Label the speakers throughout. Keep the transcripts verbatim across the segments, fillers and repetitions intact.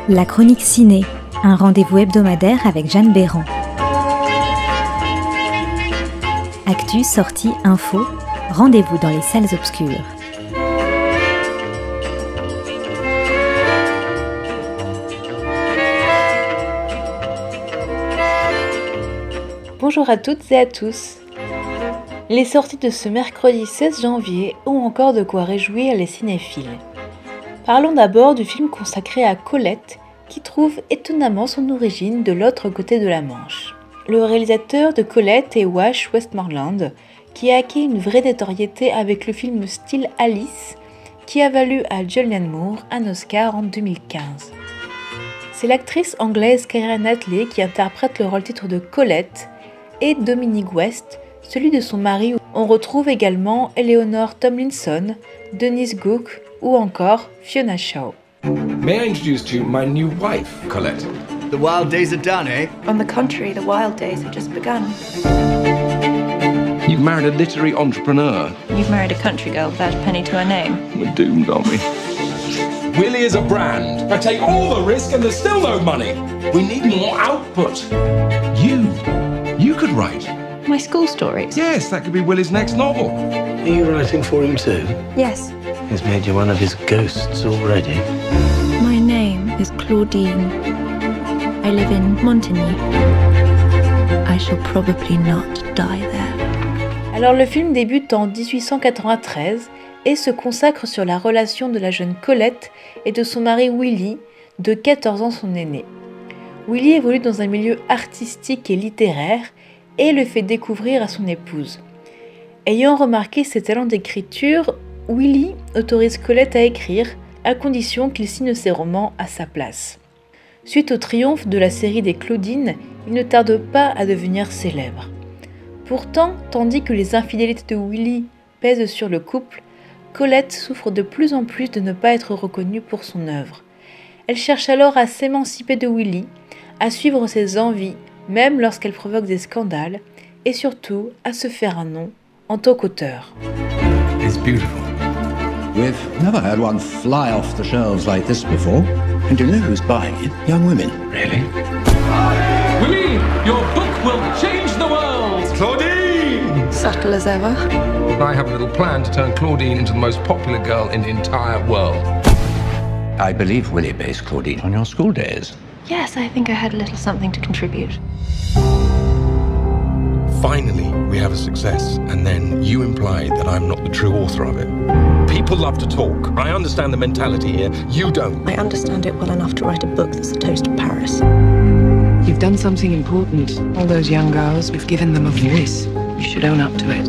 Speaker 1: La chronique ciné, un rendez-vous hebdomadaire avec Jeanne Béran. Actu, sortie, info, rendez-vous dans les salles obscures.
Speaker 2: Bonjour à toutes et à tous. Les sorties de ce mercredi seize janvier ont encore de quoi réjouir les cinéphiles. Parlons d'abord du film consacré à Colette, qui trouve étonnamment son origine de l'autre côté de la Manche. Le réalisateur de Colette est Wash Westmoreland, qui a acquis une vraie notoriété avec le film Still Alice, qui a valu à Julianne Moore un Oscar en deux mille quinze. C'est l'actrice anglaise Keira Knightley qui interprète le rôle-titre de Colette, et Dominic West, celui de son mari. On retrouve également Eleanor Tomlinson, Denise Gook ou encore Fiona Shaw.
Speaker 3: May I introduce to you my new wife, Colette?
Speaker 4: The wild days are done, eh?
Speaker 5: On the contrary, the wild days have just begun.
Speaker 3: You've married a literary entrepreneur.
Speaker 5: You've married a country girl without a penny to her name.
Speaker 3: We're doomed, aren't we? Willie is a brand. I take all the risk and there's still no money. We need more output. You, you could write.
Speaker 5: My school stories?
Speaker 3: Yes, that could be Willie's next novel.
Speaker 6: Are you writing for him too?
Speaker 5: Yes.
Speaker 6: He's made you one of his ghosts already.
Speaker 5: My name is Claudine. I live in Montigny. I shall probably not die there.
Speaker 2: Alors le film débute en dix-huit cent quatre-vingt-treize et se consacre sur la relation de la jeune Colette et de son mari Willie, de quatorze ans son aîné. Willie évolue dans un milieu artistique et littéraire et le fait découvrir à son épouse. Ayant remarqué ses talents d'écriture, Willie autorise Colette à écrire, à condition qu'il signe ses romans à sa place. Suite au triomphe de la série des Claudines, il ne tarde pas à devenir célèbre. Pourtant, tandis que les infidélités de Willie pèsent sur le couple, Colette souffre de plus en plus de ne pas être reconnue pour son œuvre. Elle cherche alors à s'émanciper de Willie, à suivre ses envies, même lorsqu'elle provoque des scandales, et surtout à se faire un nom en tant qu'auteur.
Speaker 3: It's beautiful.
Speaker 7: We've never had one fly off the shelves like this before. And you know who's buying it? Young women.
Speaker 3: Really? Willie, your book will change the world! Claudine!
Speaker 5: Subtle as ever.
Speaker 3: I have a little plan to turn Claudine into the most popular girl in the entire world.
Speaker 7: I believe Willie based Claudine on your school days.
Speaker 5: Yes, I think I had a little something to contribute.
Speaker 3: Finally, we have a success, and then you imply that I'm not the true author of it. People love to talk. I understand the mentality here. You don't.
Speaker 5: I understand it well enough to write a book that's a toast to Paris.
Speaker 8: You've done something important. All those young girls, we've given them a voice. You should own up to it.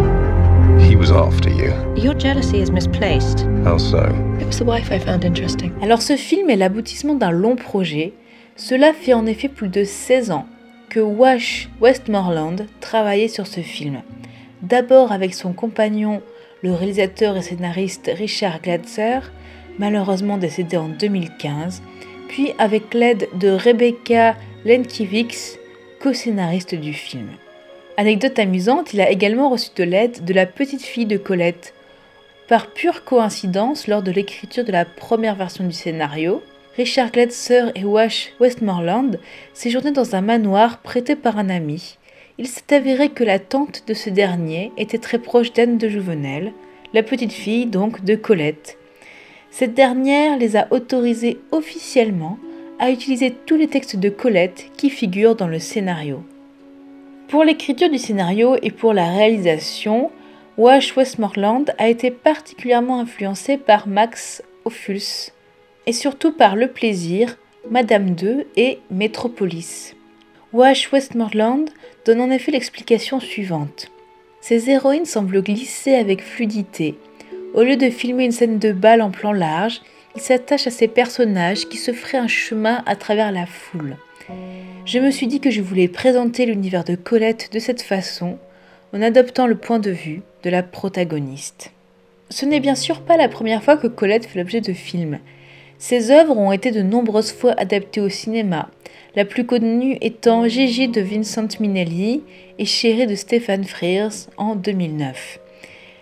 Speaker 3: He was after you.
Speaker 5: Your jealousy is misplaced.
Speaker 3: How so?
Speaker 5: It was the wife I found interesting.
Speaker 2: Alors ce film est l'aboutissement d'un long projet. Cela fait en effet plus de seize ans que Wash Westmoreland travaillait sur ce film. D'abord avec son compagnon, le réalisateur et scénariste Richard Gladser, malheureusement décédé en deux mille quinze, puis avec l'aide de Rebecca Lenkiewicz, co-scénariste du film. Anecdote amusante, il a également reçu de l'aide de la petite fille de Colette. Par pure coïncidence, lors de l'écriture de la première version du scénario, Richard Gladser et Wash Westmoreland séjournaient dans un manoir prêté par un ami. Il s'est avéré que la tante de ce dernier était très proche d'Anne de Jouvenel, la petite fille donc de Colette. Cette dernière les a autorisés officiellement à utiliser tous les textes de Colette qui figurent dans le scénario. Pour l'écriture du scénario et pour la réalisation, Wash Westmoreland a été particulièrement influencé par Max Ophuls et surtout par Le Plaisir, Madame deux et Métropolis. Wash Westmoreland donne en effet l'explication suivante. Ces héroïnes semblent glisser avec fluidité. Au lieu de filmer une scène de bal en plan large, il s'attache à ces personnages qui se feraient un chemin à travers la foule. Je me suis dit que je voulais présenter l'univers de Colette de cette façon, en adoptant le point de vue de la protagoniste. Ce n'est bien sûr pas la première fois que Colette fait l'objet de films. Ses œuvres ont été de nombreuses fois adaptées au cinéma, la plus connue étant Gigi de Vincent Minnelli et Chérie de Stephen Frears en deux mille neuf.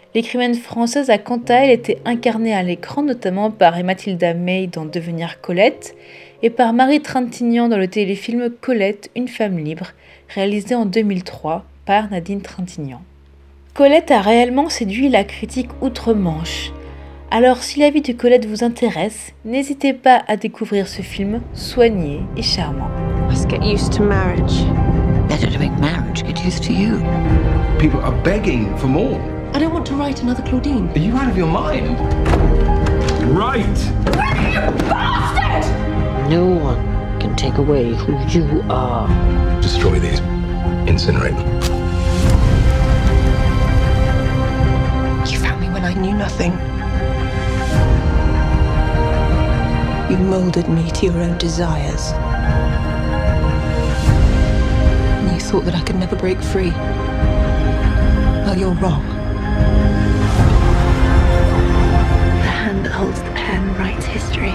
Speaker 2: L'écrivaine française a quant à elle été incarnée à l'écran notamment par Mathilda May dans Devenir Colette et par Marie Trintignant dans le téléfilm Colette, une femme libre, réalisé en deux mille trois par Nadine Trintignant. Colette a réellement séduit la critique outre-Manche. Alors si la vie de Colette vous intéresse, n'hésitez pas à découvrir ce film soigné et charmant.
Speaker 9: Let's get used to marriage. Better to make marriage get used to you.
Speaker 3: People are begging for more.
Speaker 9: I don't want to write another Claudine.
Speaker 3: Are you out of your mind? Right!
Speaker 9: You bastard! No one can take away who you are.
Speaker 3: Destroy these. Incinerate them.
Speaker 9: You found me when I knew nothing. You molded me to your own desires. And you thought that I could never break free. Well, you're wrong. The hand that holds the pen writes history.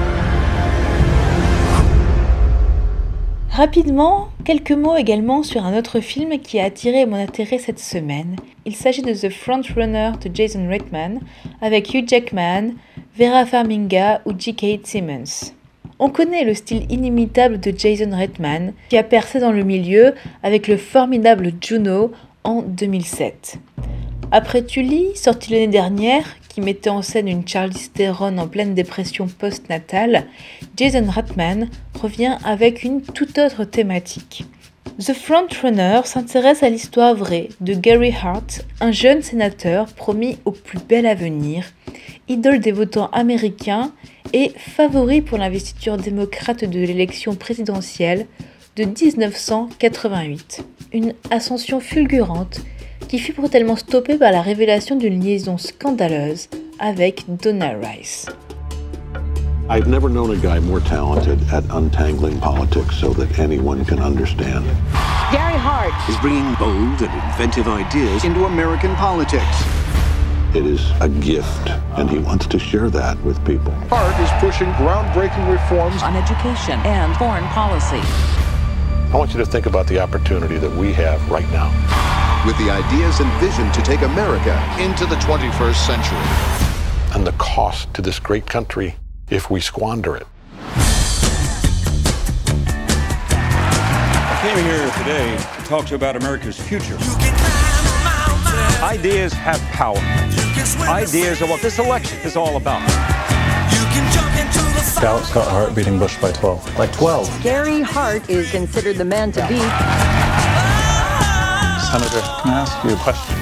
Speaker 2: Rapidement, quelques mots également sur un autre film qui a attiré mon intérêt cette semaine. Il s'agit de The Frontrunner de Jason Reitman avec Hugh Jackman, Vera Farmiga ou J K Simmons. On connaît le style inimitable de Jason Reitman qui a percé dans le milieu avec le formidable Juno en deux mille sept. Après Tully, sorti l'année dernière, qui mettait en scène une Charlize Theron en pleine dépression post-natale, Jason Reitman revient avec une toute autre thématique. The Frontrunner s'intéresse à l'histoire vraie de Gary Hart, un jeune sénateur promis au plus bel avenir, idole des votants américains et favori pour l'investiture démocrate de l'élection présidentielle de dix-neuf cent quatre-vingt-huit. Une ascension fulgurante qui fut brutalement stoppée par la révélation d'une liaison scandaleuse avec Donna Rice.
Speaker 10: I've never known a guy more talented at untangling politics so that anyone can understand.
Speaker 11: Gary Hart is bringing bold and inventive ideas into American politics.
Speaker 10: It is a gift, and he wants to share that with people.
Speaker 12: Hart is pushing groundbreaking reforms
Speaker 13: on education and foreign policy.
Speaker 10: I want you to think about the opportunity that we have right now.
Speaker 12: With the ideas and vision to take America into the twenty-first century.
Speaker 10: And the cost to this great country if we squander it.
Speaker 14: I came here today to talk to you about America's future. Ideas have power. Ideas are what this election is all about.
Speaker 15: Scout Scott Hart beating Bush by twelve.
Speaker 16: By twelve.
Speaker 13: Gary Hart is considered the man to beat.
Speaker 15: Senator, can I ask you a question?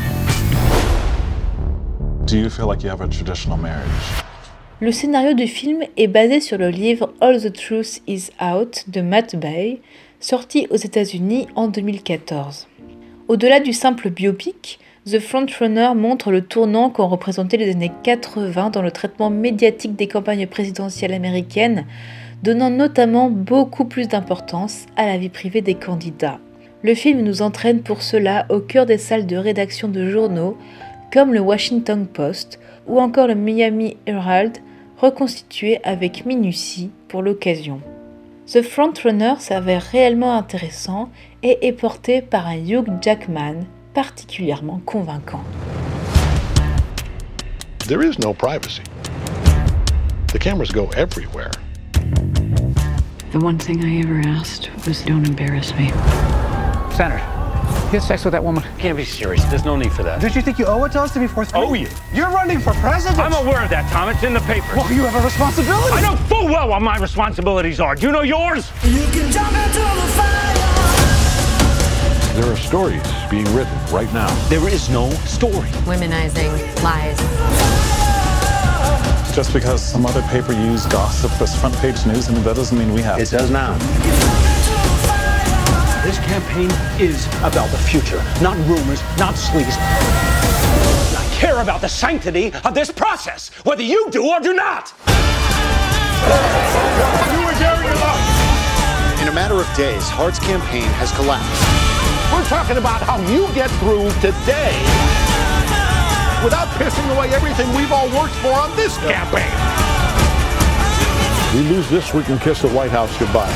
Speaker 15: Do you feel like you have a traditional marriage?
Speaker 2: Le scénario du film est basé sur le livre All the Truth Is Out de Matt Bay, sorti aux États-Unis en deux mille quatorze. Au-delà du simple biopic, The Frontrunner montre le tournant qu'ont représenté les années quatre-vingts dans le traitement médiatique des campagnes présidentielles américaines, donnant notamment beaucoup plus d'importance à la vie privée des candidats. Le film nous entraîne pour cela au cœur des salles de rédaction de journaux comme le Washington Post ou encore le Miami Herald, reconstitué avec minutie pour l'occasion. The Frontrunner s'avère réellement intéressant et est porté par un Hugh Jackman particulièrement convaincant.
Speaker 10: There is no privacy. The cameras go everywhere.
Speaker 8: The one thing I ever asked was don't embarrass me.
Speaker 16: Senator, you had sex with that woman?
Speaker 6: You can't be serious. There's no need for that.
Speaker 16: Don't you think you owe it to us to be forthcoming?
Speaker 6: Owe you?
Speaker 16: You're running for president.
Speaker 6: I'm aware of that, Tom. It's in the paper.
Speaker 16: Well, you have a responsibility.
Speaker 6: I know full well what my responsibilities are. Do you know yours?
Speaker 17: You can jump into the fire.
Speaker 10: There are stories being written right now.
Speaker 6: There is no story.
Speaker 18: Womenizing, lies.
Speaker 15: Just because some other paper used gossip as front page news, I mean, that doesn't mean we have
Speaker 6: It does now.
Speaker 16: This campaign is about the future, not rumors, not sleaze.
Speaker 6: I care about the sanctity of this process, whether you do or do not.
Speaker 12: You and Gary are lost. In a matter of days, Hart's campaign has collapsed.
Speaker 10: We're talking about how you get through today without pissing away everything we've all worked for on this campaign. We lose this, we can kiss the White House goodbye.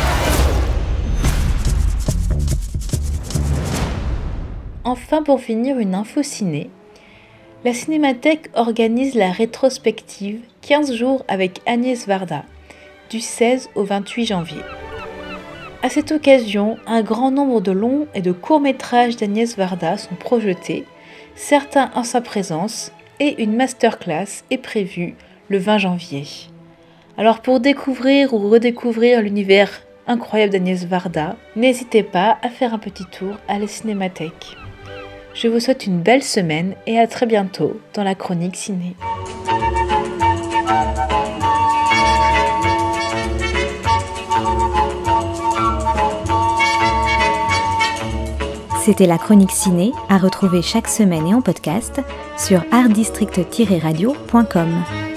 Speaker 2: Enfin, pour finir, une info ciné. La Cinémathèque organise la rétrospective quinze jours avec Agnès Varda, du seize au vingt-huit janvier. À cette occasion, un grand nombre de longs et de courts-métrages d'Agnès Varda sont projetés, certains en sa présence, et une masterclass est prévue le vingt janvier. Alors pour découvrir ou redécouvrir l'univers incroyable d'Agnès Varda, n'hésitez pas à faire un petit tour à la Cinémathèque. Je vous souhaite une belle semaine et à très bientôt dans la chronique ciné.
Speaker 1: C'était la chronique ciné à retrouver chaque semaine et en podcast sur art district tiret radio point com.